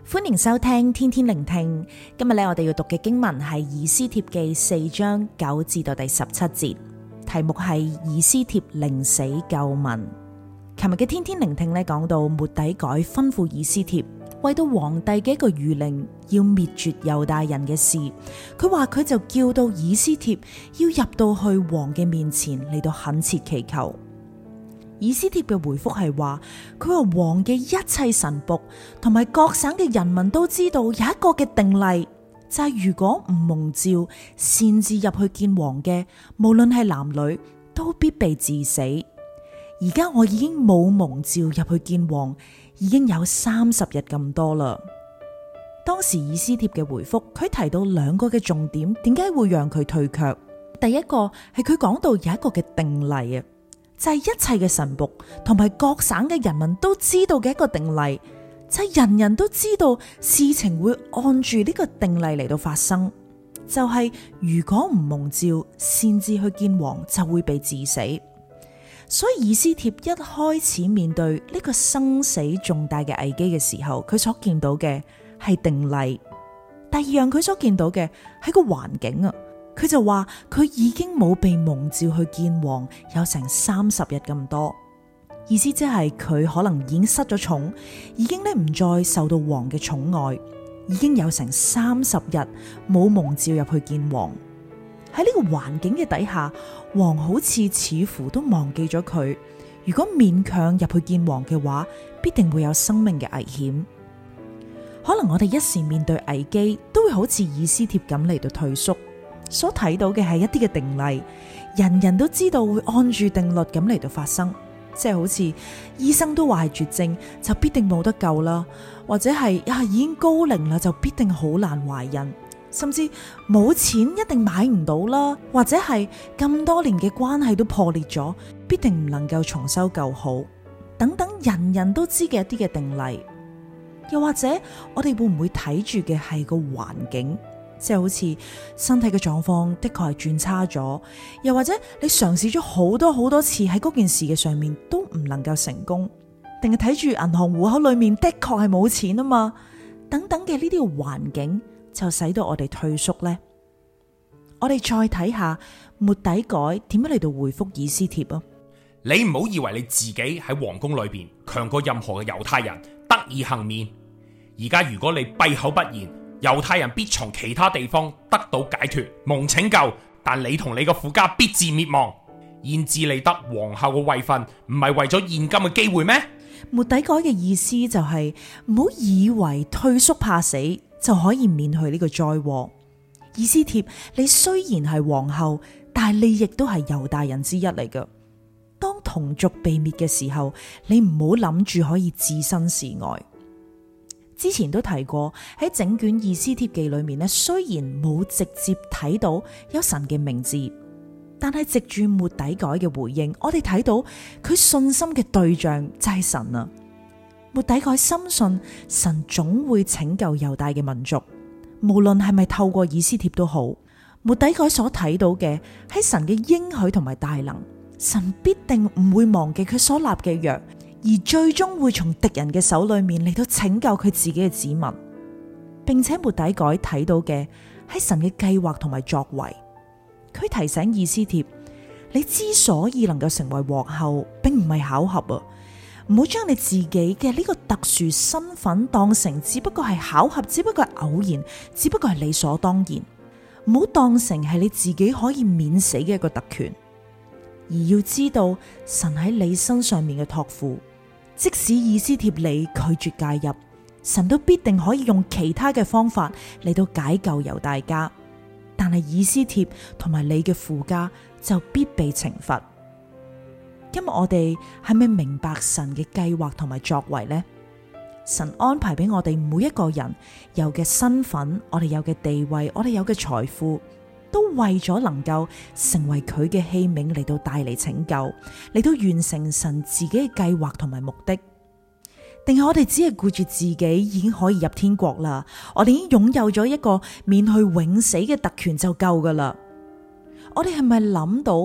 歡迎收聽天天聆聽。今日我哋要讀嘅經文係以斯帖記4章9至到第17節，題目係以斯帖寧死救民。琴日嘅天天聆聽講到末底改吩咐以斯帖為到皇帝嘅一個諭令，要滅絕猶大人嘅事。佢話佢就叫到以斯帖要入到去王嘅面前嚟到懇切祈求。以斯帖嘅回覆係話，佢話王嘅一切臣僕同埋各省嘅人民都知道有一個嘅定例，就係如果唔蒙召擅自入去見王嘅，無論係男女，都必被治死。而家我已經冇蒙召入去見王，已經有30日咁多啦。當時以斯帖嘅回覆，佢提到2個嘅重點，點解會讓佢退卻？第一個係佢講到有一個嘅定例啊，就係一切嘅臣僕同埋各省嘅人民都知道嘅一個定例，就係人人都知道事情會按住呢個定例嚟到發生，就係如果唔蒙召擅自去見王，就會被治死。所以以斯帖一開始面對呢個生死重大嘅危機嘅時候，佢所見到嘅係定例。第二樣佢所見到嘅係個環境啊。佢就話佢已經冇被蒙召去見王有成30日咁多，意思即係佢可能已經失咗寵，已經唔再受到王嘅寵愛，已經有成30日冇蒙召入去見王。喺呢個環境嘅底下，王好似乎都忘記咗佢。如果勉強入去見王嘅話，必定會有生命嘅危險。可能我哋一時面對危機，都會好似以斯帖咁嚟到退縮。所睇到嘅係一啲嘅定例，人人都知道會按住定律咁嚟到發生，即係好似醫生都話係絕症就必定冇得救啦，或者係已經高齡啦就必定好難懷孕，甚至冇錢一定買唔到啦，或者係咁多年嘅關係都破裂咗，必定唔能夠重修舊好，等等人人都知嘅一啲嘅定例。又或者我哋會唔會睇住嘅係個環境？即係好似身體嘅狀況的確係轉差咗，又或者你嘗試咗好多次喺嗰件事嘅上面都唔能夠成功，定係睇住銀行戶口裏面的確係冇錢啊嘛，等等嘅呢啲嘅環境就使到我哋退縮呢。我哋再睇下末底改點樣嚟到回覆以斯帖啊。 你唔好以為你自己喺皇宮裏邊強過任何嘅猶太人得以幸免，而家如果你閉口不言，猶太人必從其他地方得到解脫蒙拯救，但你同你個父家必至滅亡。現至你得皇后嘅位分，唔係為咗現今嘅機會咩？ 末底改嘅意思就係唔好以為退縮怕死就可以免去呢個災禍。以斯帖，你雖然係皇后，但係你亦都係猶大人之一嚟㗎。當同族被滅嘅時候，你唔好諗住可以置身事外。之前都提過喺整卷以斯帖記裏面雖然冇直接睇到有神嘅名字，但係藉住末底改嘅回應，我哋睇到佢信心嘅對象就係神啊。末底改深信神總會拯救猶大嘅民族，無論係咪透過以斯帖都好。末底改所睇到嘅係神嘅應許同埋大能，神必定唔會忘記佢所立嘅約，而最終會從敵人嘅手裏面嚟到拯救佢自己嘅子民，並且末底改睇到嘅係神嘅計劃同埋作為。佢提醒以斯帖，你之所以能夠成為皇后，並唔係巧合啊！唔好將你自己嘅呢個特殊身份當成只不過係巧合，只不過係偶然，只不過係理所當然。唔好當成係你自己可以免死嘅一個特權，而要知道神喺你身上面嘅託付。即使以斯帖你拒絕介入，神都必定可以用其他嘅方法嚟到解救猶大家，但係以斯帖同埋你嘅父家就必被懲罰。今日我哋係咪明白神嘅計劃同埋作為呢？神安排俾我哋每一個人有嘅身份，我哋有嘅地位，我哋有嘅財富，都為咗能夠成為佢嘅器皿嚟到帶嚟拯救，嚟到完成神自己嘅計劃同埋目的。定係我哋只係顧住自己已經可以入天國啦，我哋已經擁有咗一個免去永死嘅特權就夠噶啦。我哋係咪諗到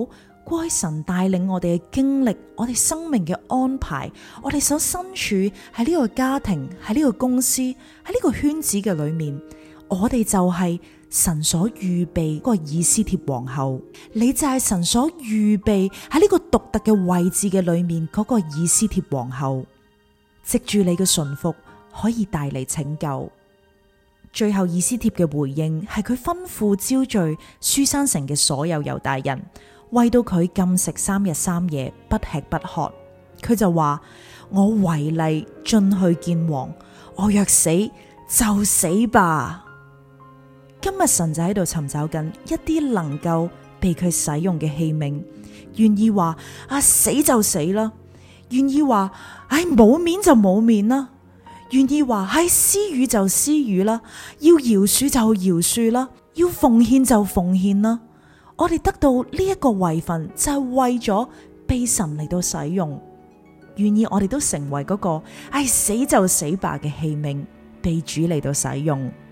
該神帶領我哋嘅經歷，我哋生命嘅安排，我哋所身處喺呢個家庭，喺呢個公司，喺呢個圈子嘅裏面，我哋就係神所預備嗰個以斯帖皇后，你就係神所預備喺呢個獨特嘅位置嘅裏面嗰個以斯帖皇后，藉住你嘅順服可以帶嚟拯救。最後以斯帖嘅回應係佢吩咐招聚書珊城嘅所有猶大人，為到佢禁食3日3夜，不吃不喝。佢就話：我違例進去見王，我若死就死吧。今日神就喺度尋找緊一啲能夠被佢使用嘅器皿，願意話死就死啦，願意話冇面就冇面啦，願意話施予就施予啦，要饒恕就饒恕啦，要奉獻就奉獻啦。我哋得到呢一個位份，就係為咗被神嚟到使用，願意我哋都成為嗰個死就死吧嘅器皿，被主嚟到使用。